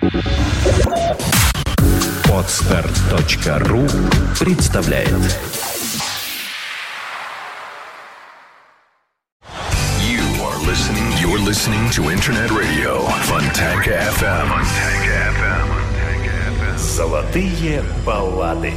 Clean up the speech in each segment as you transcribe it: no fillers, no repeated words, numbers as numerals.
Podster.ru представляет. You're listening to Internet Radio Fontanka FM. Золотые баллады.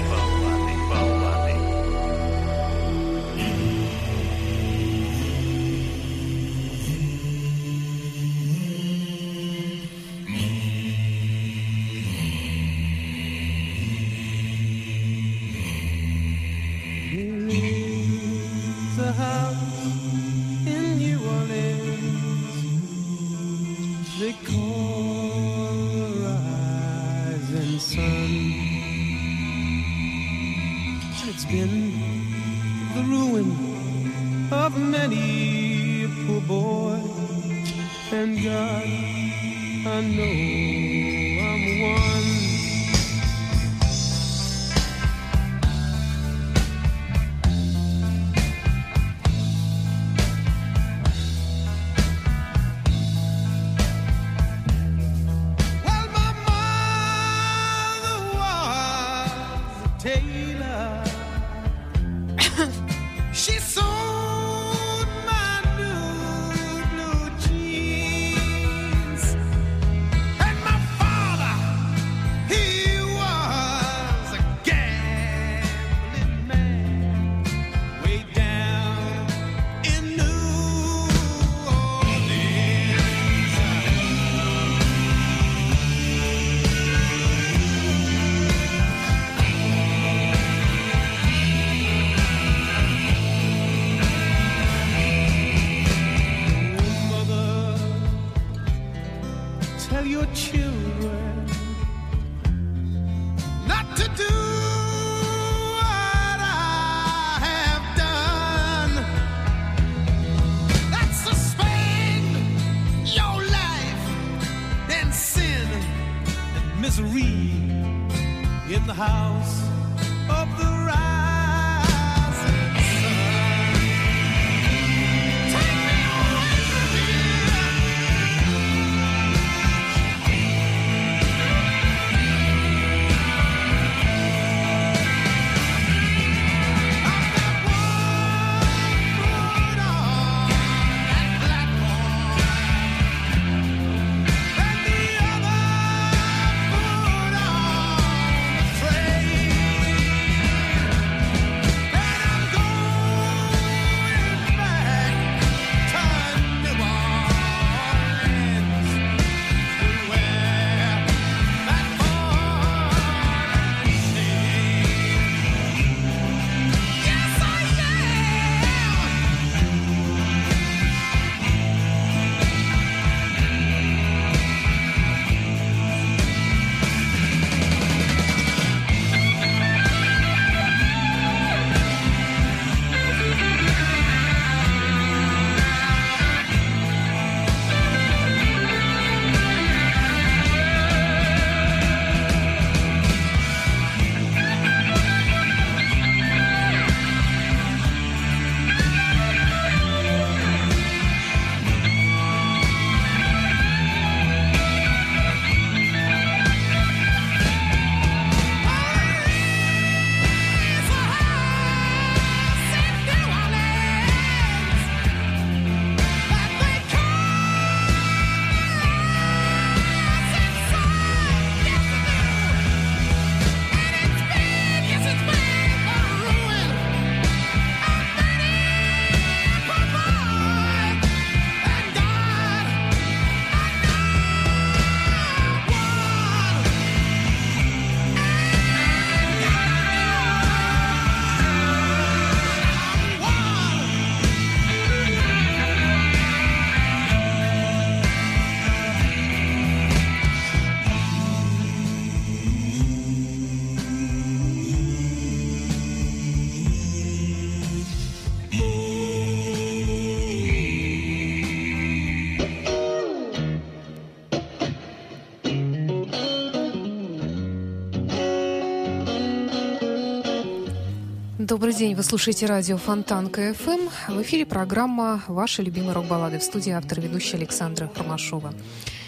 Добрый день, вы слушаете радио Фонтанка ФМ. В эфире программа «Ваши любимые рок-баллады». В студии автор-ведущая Александра Ромашова.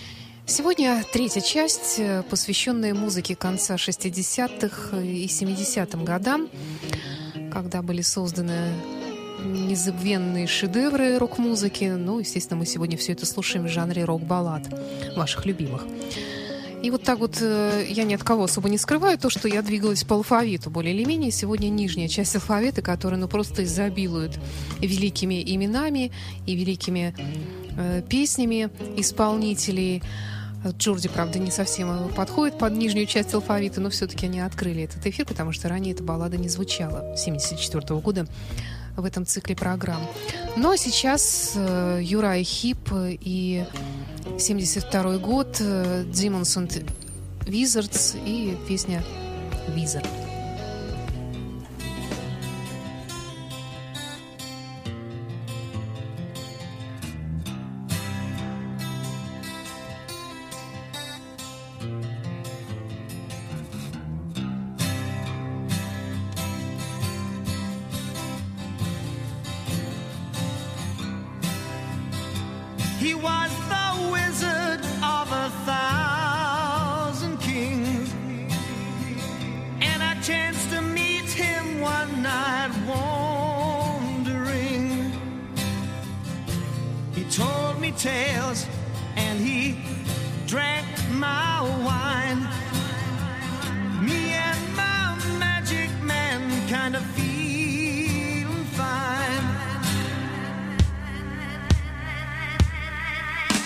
Сегодня третья часть, посвященная музыке конца 60-х и 70-м годам, когда были созданы незабвенные шедевры рок-музыки. Ну, естественно, мы сегодня все это слушаем в жанре рок-баллад, ваших любимых. И вот так вот я ни от кого особо не скрываю то, что я двигалась по алфавиту более или менее. Сегодня нижняя часть алфавита, которая просто изобилует великими именами и великими песнями исполнителей. Джорди, правда, не совсем подходит под нижнюю часть алфавита, но все-таки они открыли этот эфир, потому что ранее эта баллада не звучала 1974 года в этом цикле программ. Ну а сейчас Юрай Хип и 1972 год, Demons and Wizards и песня «Wizard». He was the wizard of 1,000 kings, and I chanced to meet him one night wandering. He told me tales and he drank my wine. Me and my magic man kind of feeling fine.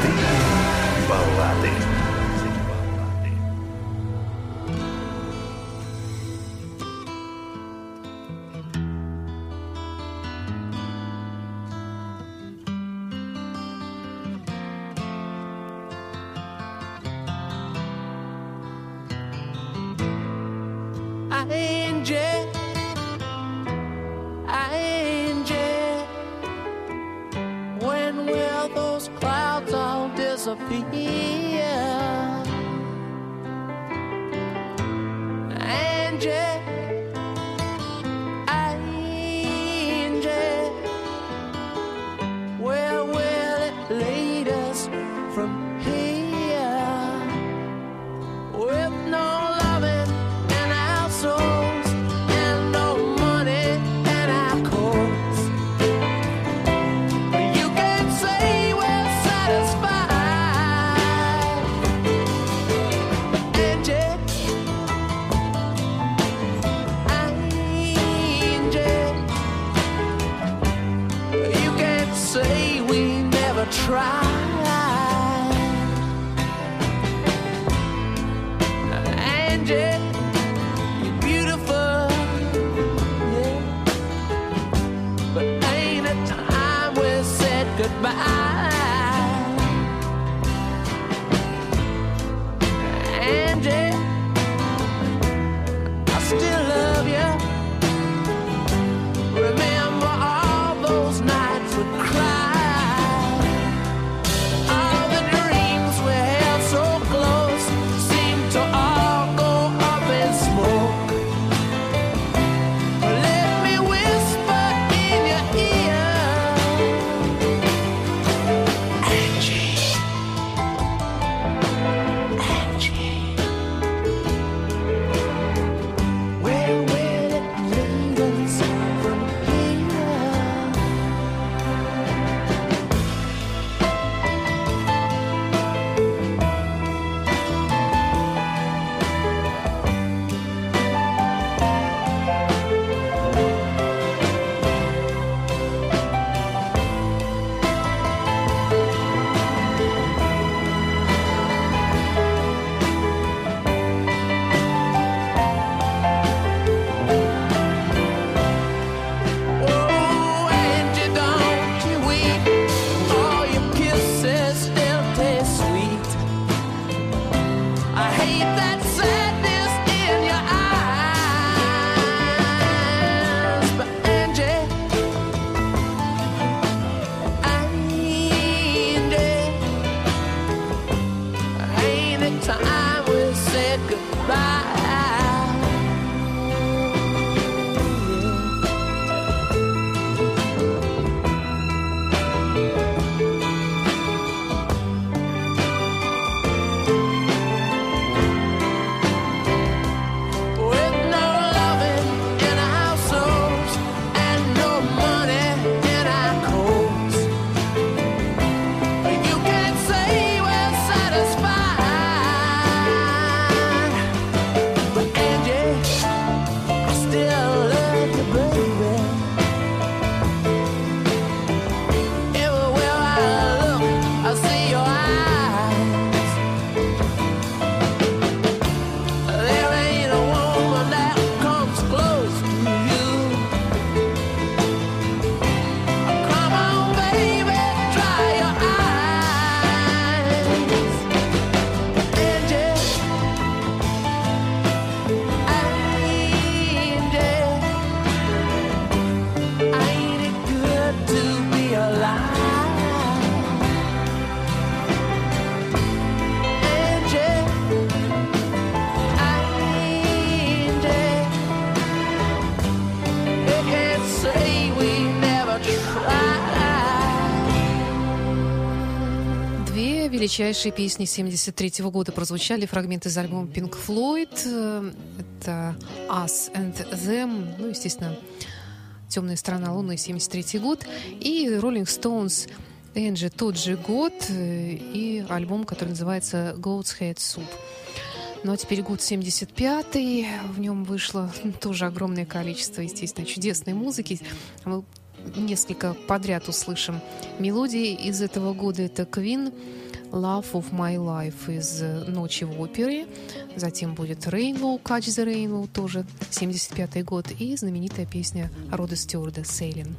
Баллады. When will those clouds all disappear? Angie, Angie, where will it lead us from here? With no loving in our souls and no money in our coats, you can say we're satisfied. Angie, Angie, you can say we never tried. Angie, you're beautiful, yeah, but ain't it time we said goodbye? Angie, I still love you. Remember all those nights we cried. All the dreams we held so close seem to all go up in smoke. Let me whisper in your ear, Angie, Angie, where will it lead us from here? Oh, Angie, don't you weep. All your kisses still taste sweet. I hate that sadness in your eyes, but Angie, Angie, ain't it time we said goodbye? With no loving in our souls and no money in our coats, you can say we're satisfied. But Angie, I still love you, baby. Everywhere I look, I see your eyes. There ain't a woman that comes close to you. Come on, baby, dry your eyes. Angie, Angie, ain't it good to be alive? Angie, Angie, you can't say we never tried. Две величайшие песни 1973 года прозвучали, фрагменты из альбома Pink Floyd. Это Us and Them, ну, естественно, «Темная сторона Луны», 1973 год, и Rolling Stones, Angie, тот же год, и альбом, который называется Goat's Head Soup. Ну а теперь год 75-й, в нем вышло тоже огромное количество, естественно, чудесной музыки. Мы несколько подряд услышим мелодии из этого года. Это Queen, Love of My Life из «Ночи в опере». Затем будет Rainbow, Catch the Rainbow, тоже 75-й год. И знаменитая песня Рода Стюарда «Sailing».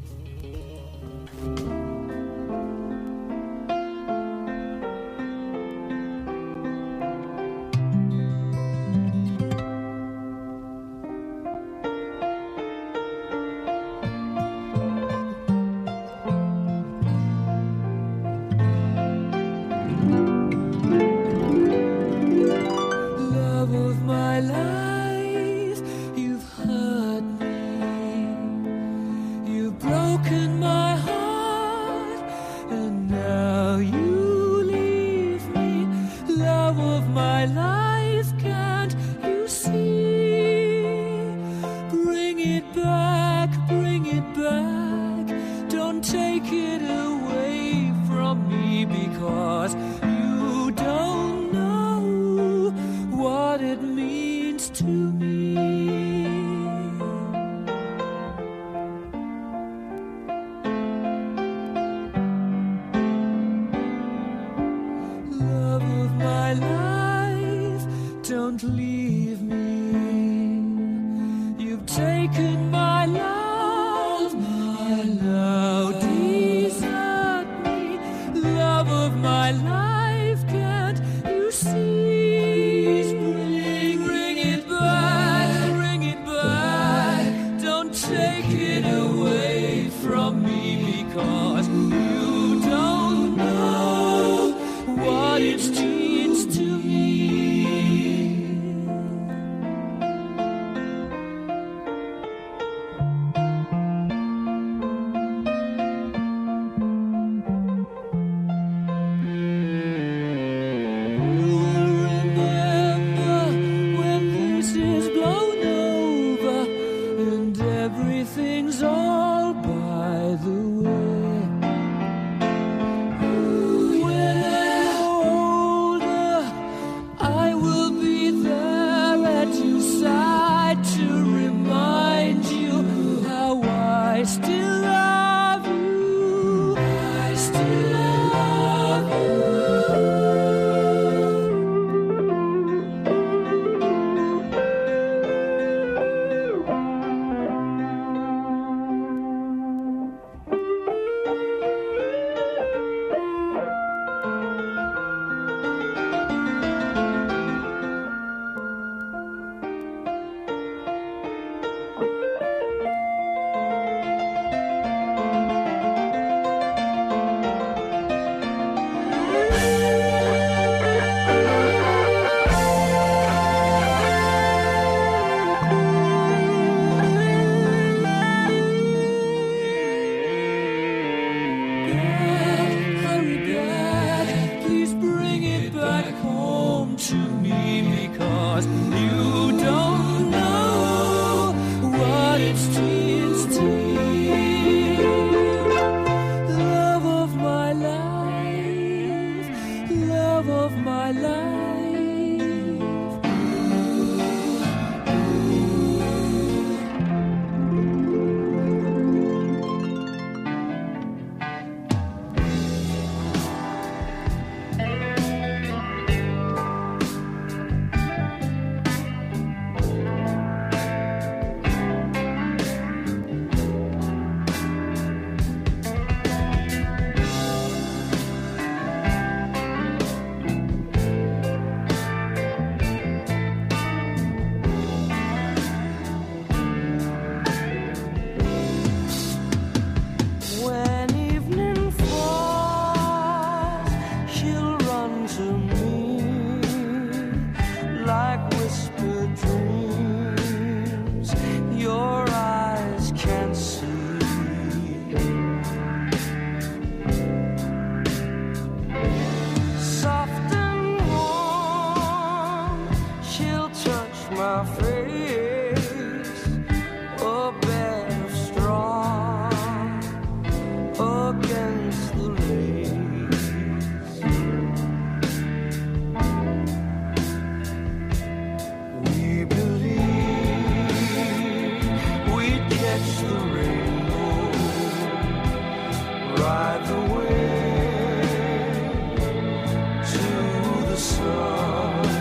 sun,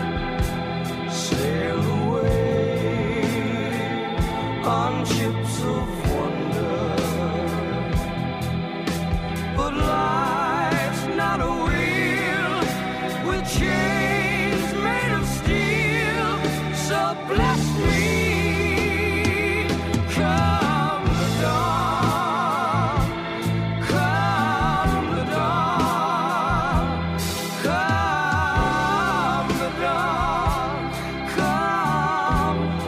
sail away on ships of wonder. But life's not a wheel with chains made of steel, so bless me. Come the dawn, come the dawn, come the dawn, come the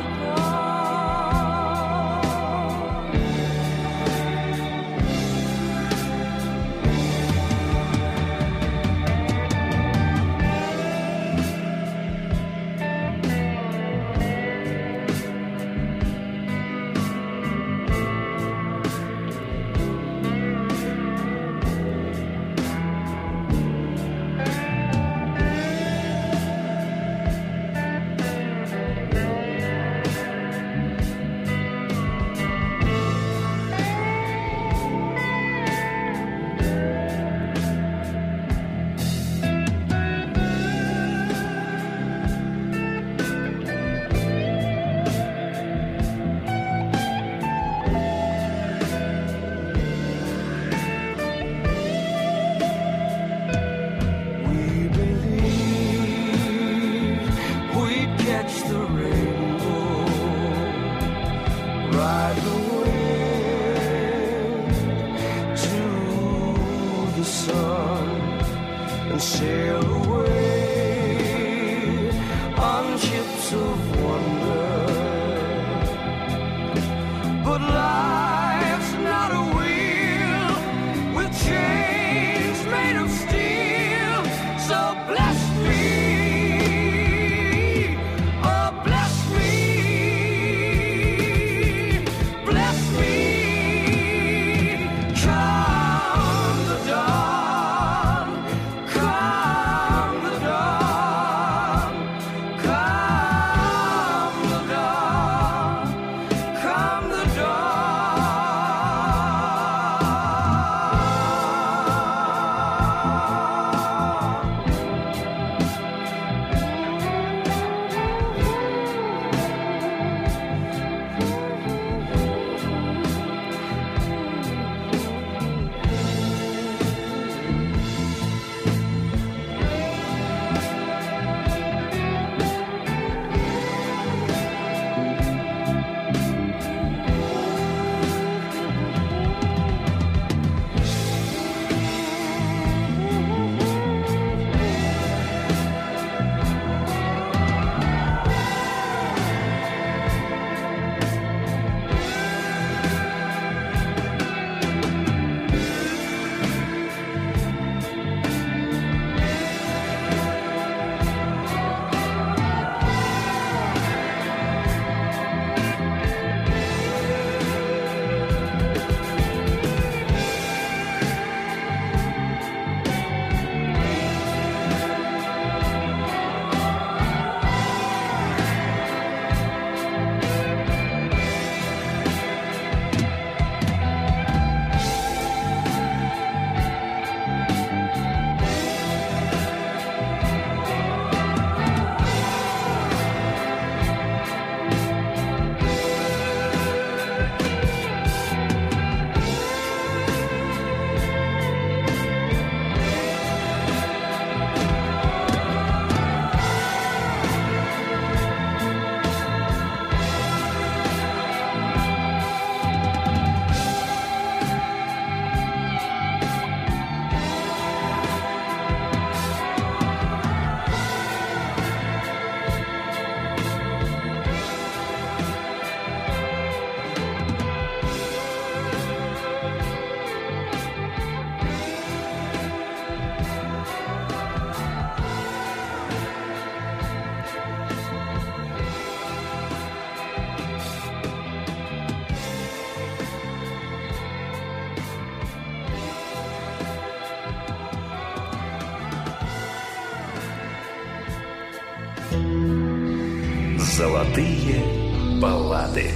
Золотые баллады.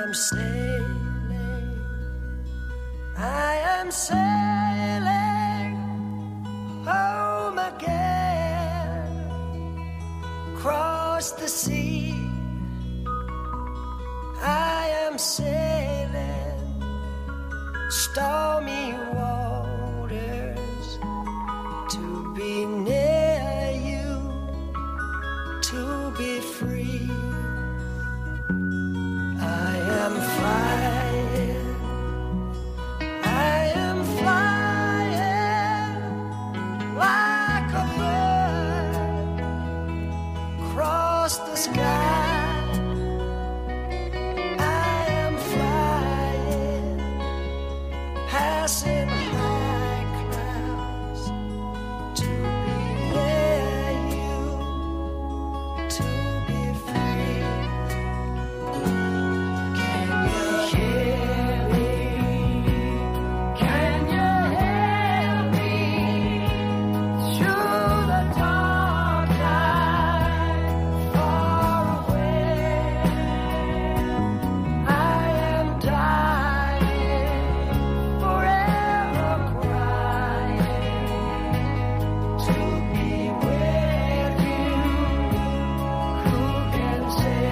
am sailing, I am sailing home again, across the sea. I am sailing stormy waters to be near you, to be free. I am flying, I am flying like a bird across the sky. Passing high clouds to be near you, to be free. Can you hear me? Can you hear me? Through the dark night, far away, I am dying. Forever crying to be with you. Who can say?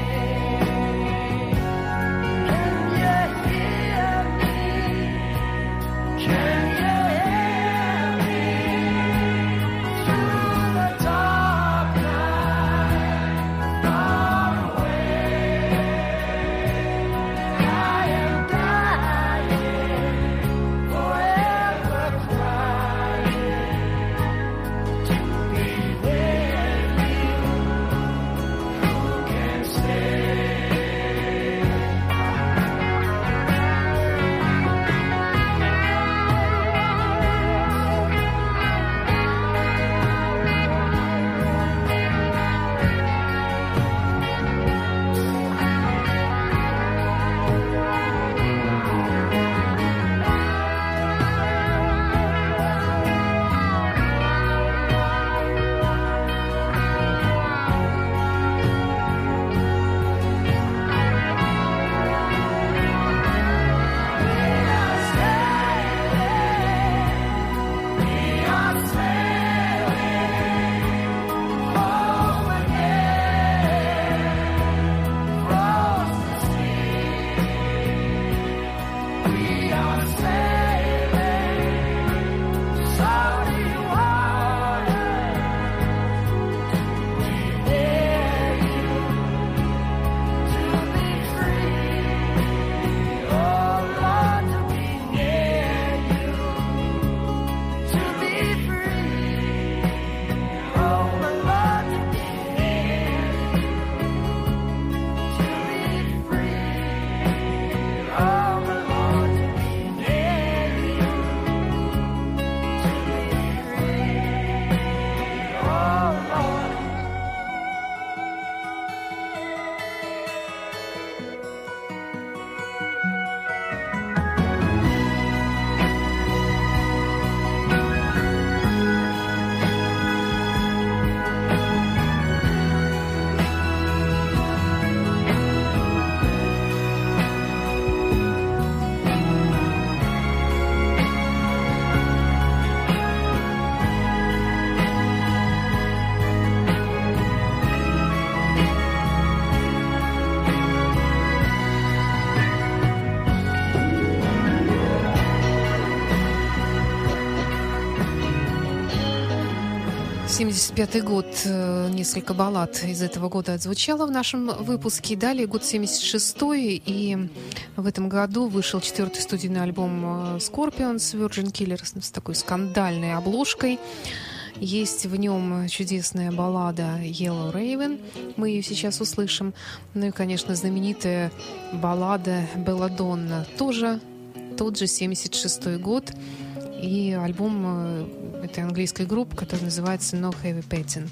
Can you hear me? Can you hear me? Through the dark night, far away, I am dying. Forever crying to be with you. Who can say? «75-й год». Несколько баллад из этого года отзвучало в нашем выпуске. Далее год 76-й, и в этом году вышел 4-й студийный альбом Scorpions Virgin Killers с такой скандальной обложкой. Есть в нем чудесная баллада «Yellow Raven». Мы ее сейчас услышим. Ну и, конечно, знаменитая баллада «Belladonna». Тоже тот же 76-й год. И альбом этой английской группы, который называется «No Heavy Petting».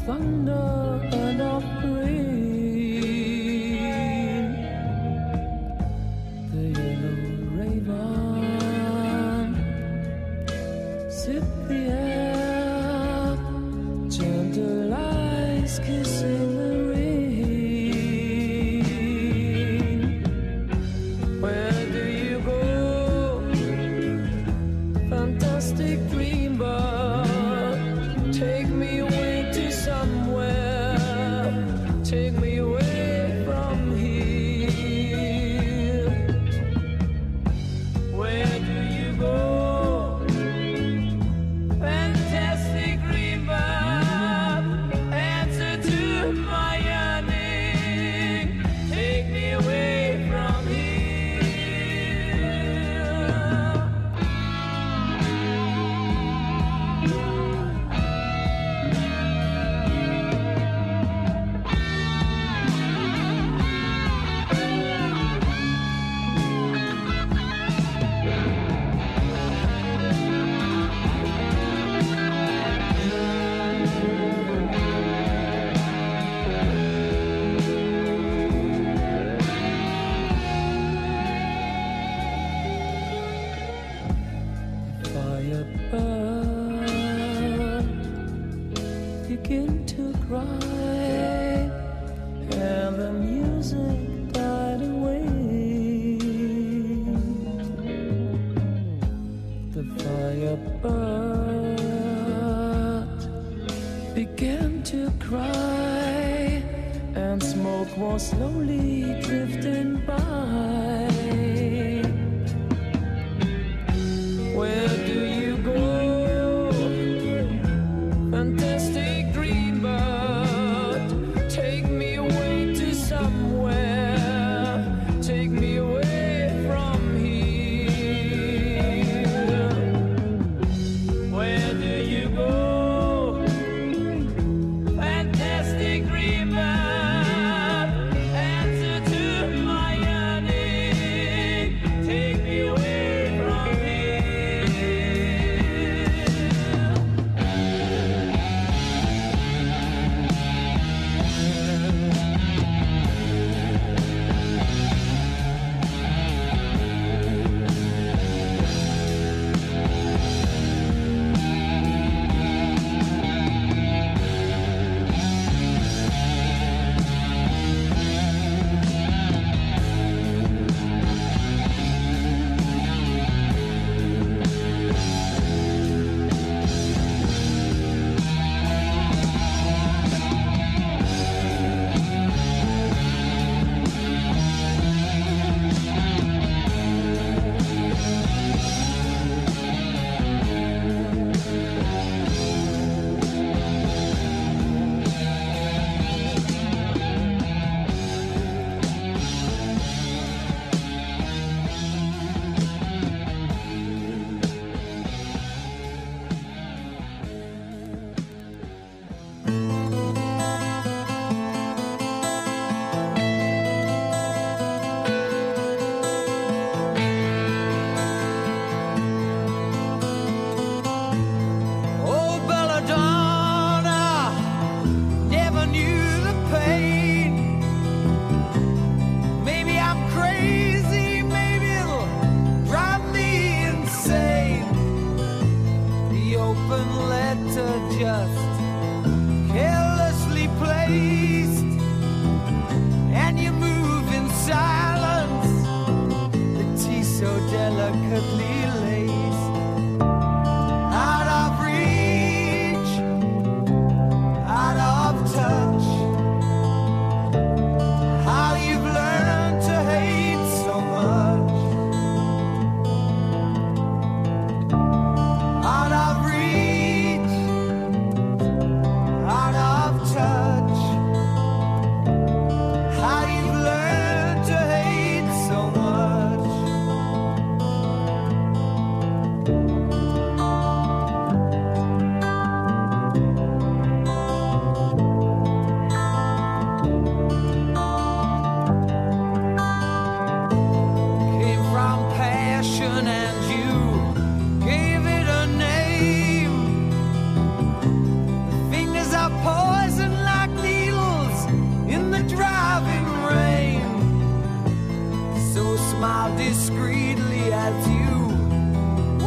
thunder and of rain. The yellow raven zipped the air, gentle eyes kissing the rain. Where do you go, fantastic dreambird? Take me away to somewhere, take me away from here. Where do you go, fantastic dreambird? Answer to my yearning, take me away from Firebird begin to cry, and the music died away. The firebird began to cry, and smoke was slowly drifting by. Where do you go, fantastic dreambird? Take me away to somewhere, take me away from here. Where do you go, fantastic dreambird? Answer to my yearning,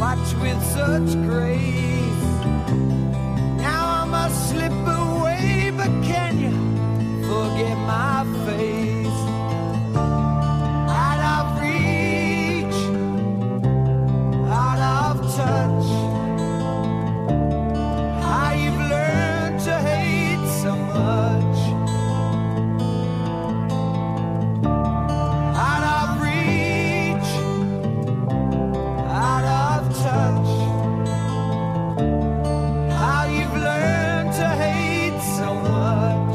watch with such grace. Now I must slip away, but can you forget my face? Out of reach, out of touch. How you've learned to hate so much. Out of reach, out of touch. How you've learned to hate so much.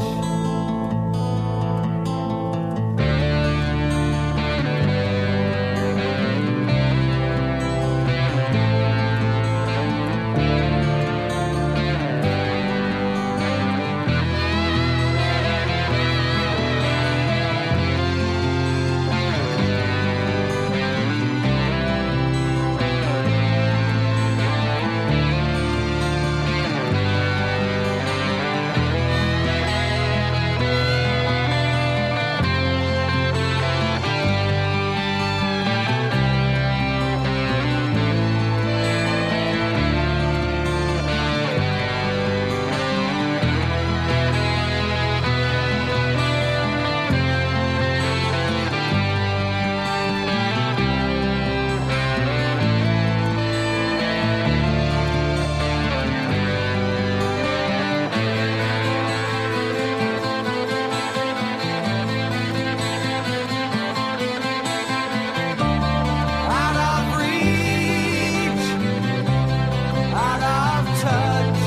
Out of reach, out of touch.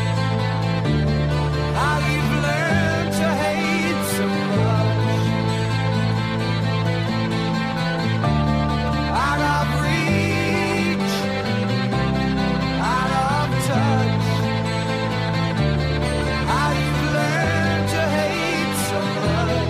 How you've learned to hate so much. Out of reach, out of touch. How you've learned to hate so much.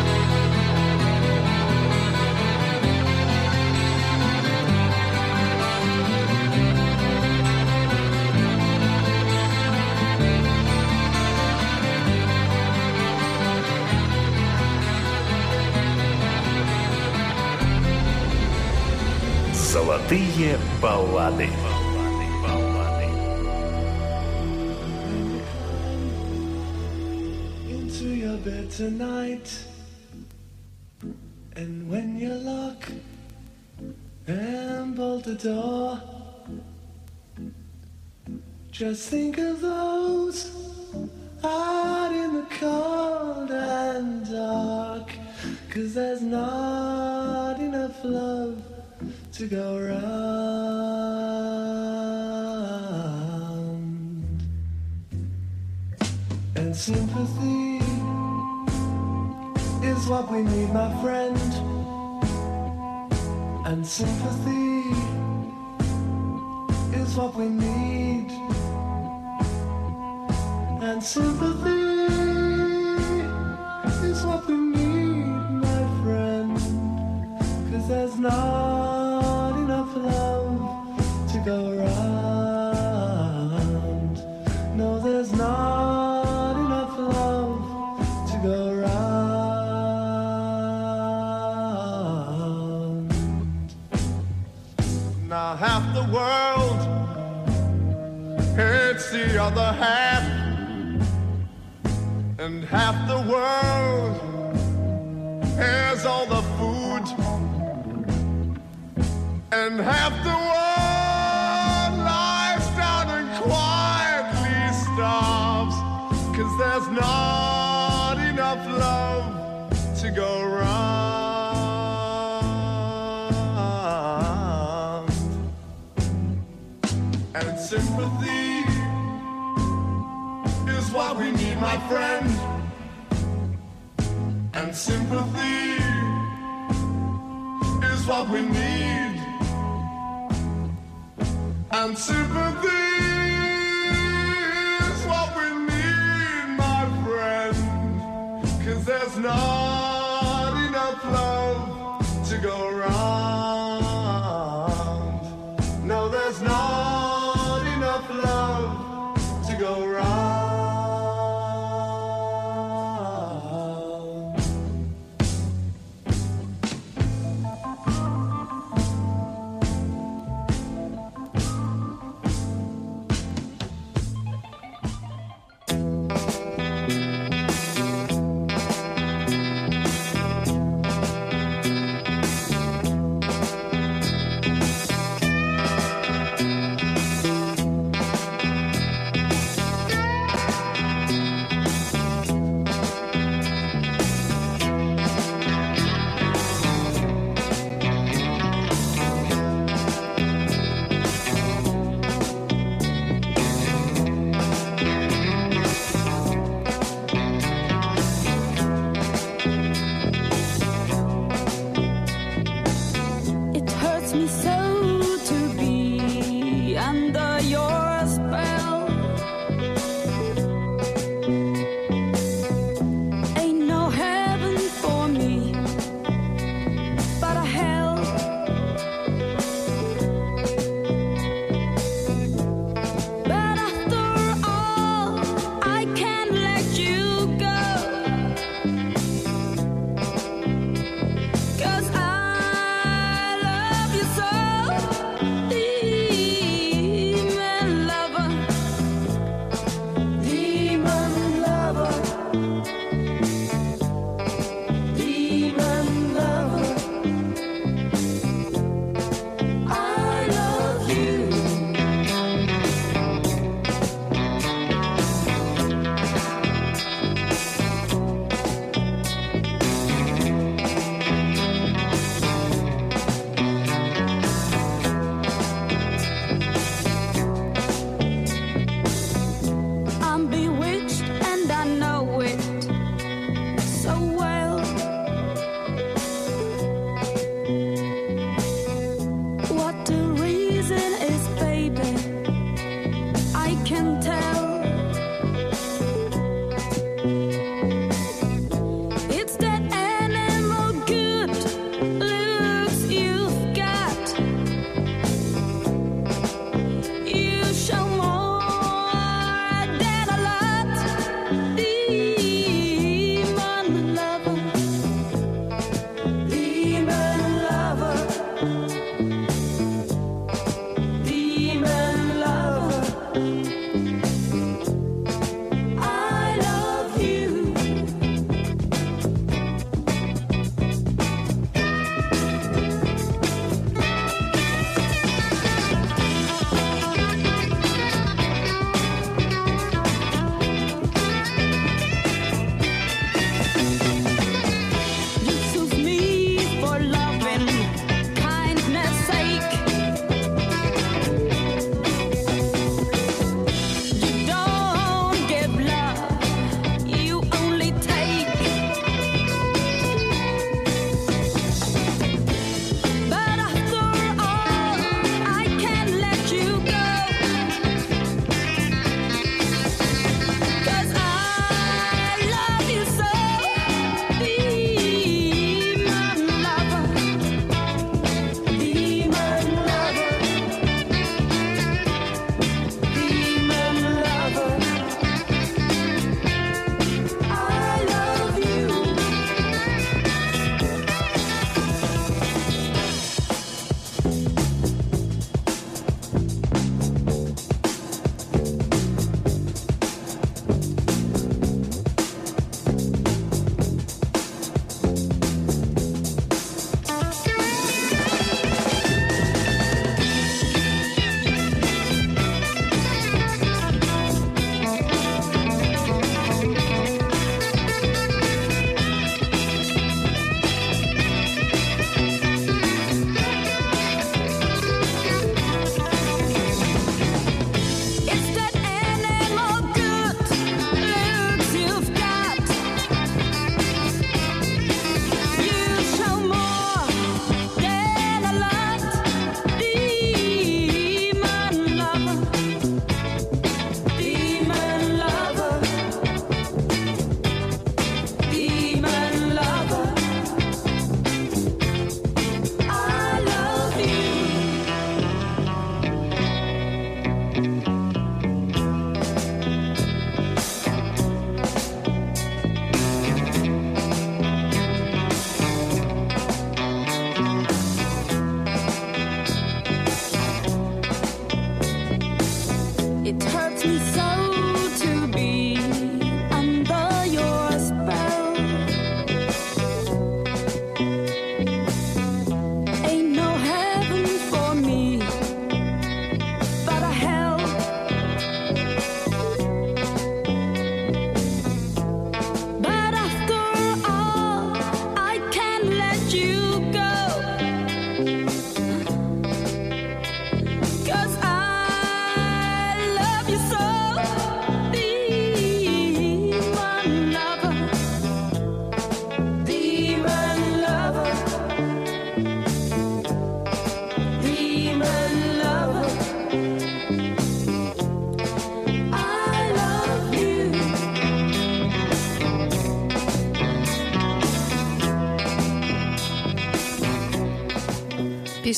Золотые баллады. Into your bed tonight, and when you lock and bolt the door, just think of those out in the cold and dark, 'cause there's not enough love to go round. And sympathy is what we need, my friend. And sympathy is what we need. And sympathy is what we need, my friend. 'Cause there's not enough love to go round. No, there's not enough love to go round. Now half the world hates the other half, and half the world has all the food, and half the world lies down and quietly starves, 'cause there's not enough love to go round. And sympathy is what we need, my friend. And sympathy is what we need. And sympathy is what we need, my friend. 'Cause there's not enough love to go round. No, there's not enough love to go round.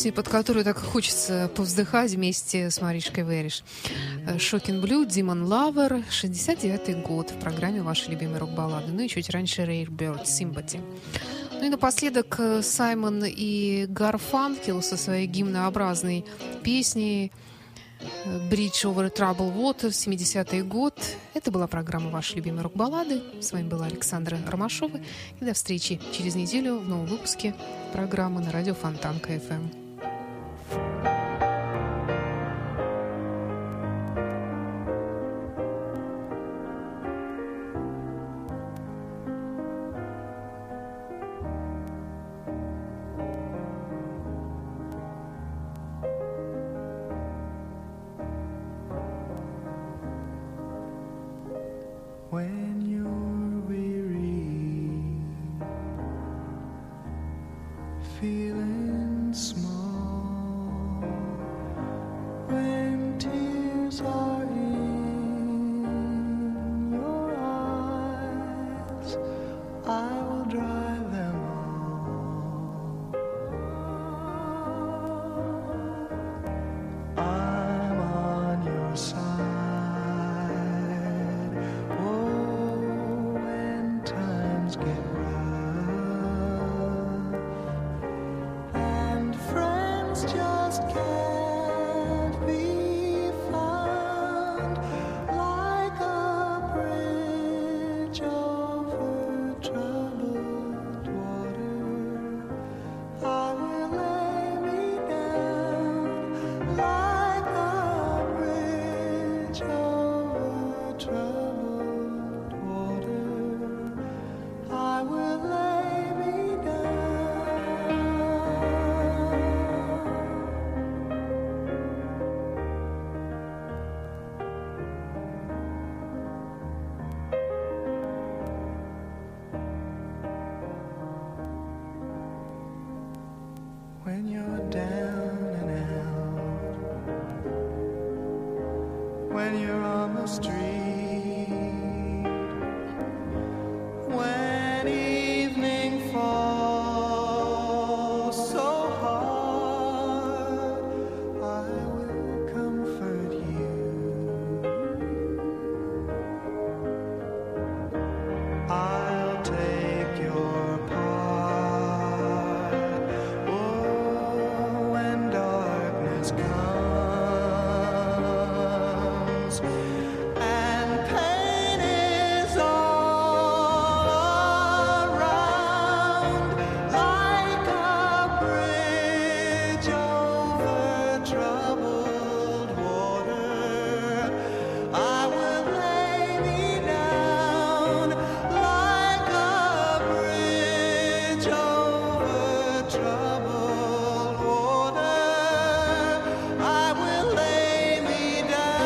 песня, под которую так хочется повздыхать вместе с Маришкой Вериш. Shocking Blue, Demon Lover, 69-й год в программе «Ваши любимые рок-баллады». Ну и чуть раньше Rare Bird, Sympathy. Ну и напоследок Саймон и Гарфанкел со своей гимнообразной песней Bridge over Troubled Water, 70-й год. Это была программа «Ваши любимые рок-баллады». С вами была Александра Ромашова. И до встречи через неделю в новом выпуске программы на радио Фонтанка ФМ. When you're weary, feeling small, when tears are in your eyes, I will dry them all. I'm on your side. Get rough, and friends just can't be found, like a bridge over troubled water. I will lay me down, like a bridge over troubled water. I will lay me down. When you're down and out, when you're on the street, when evening falls so hard, I will comfort you. I'll take your part. Oh, when darkness comes and pain is all around, like a bridge over troubled water, I will lay me down, like a bridge over troubled water, I will lay me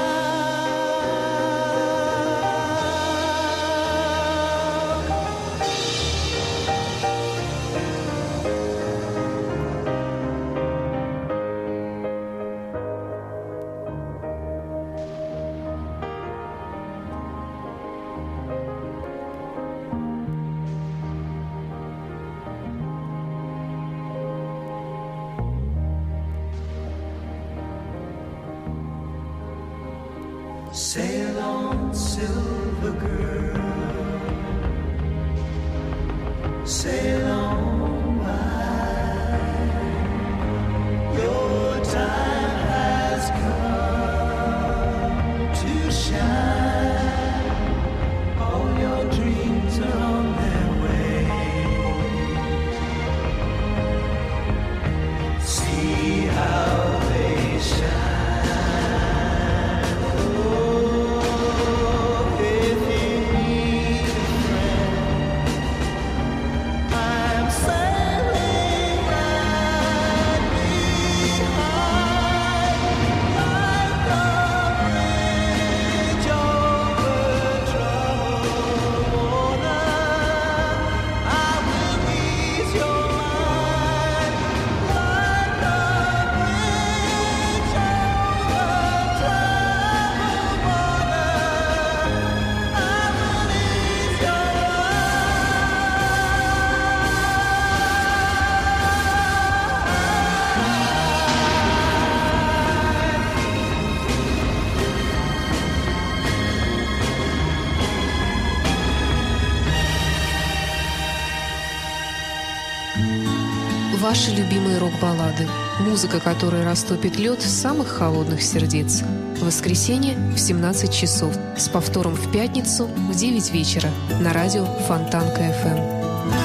Sail on, silver girl, sail on by. Your time has come to shine. All your dreams are on their way. See how they shine. I Ваши любимые рок-баллады. Музыка, которая растопит лед самых холодных сердец. В воскресенье в 17 часов. С повтором в пятницу в 9 вечера. На радио Фонтанка FM.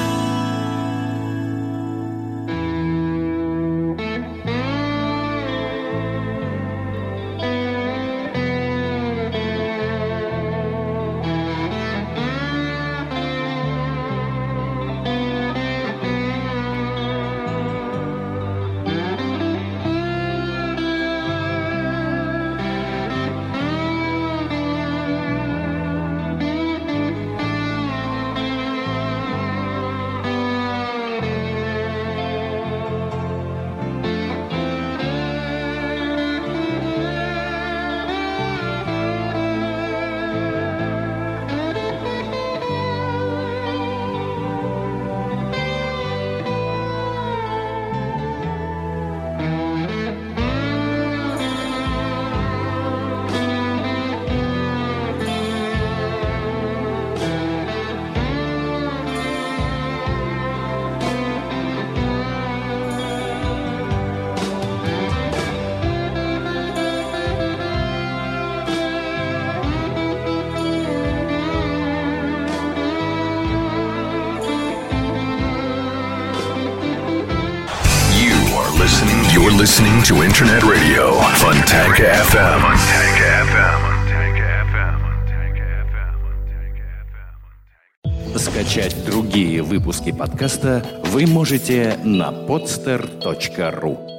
You're listening to Internet Radio, Fontanka FM. Скачать другие выпуски подкаста вы можете на podster.ru.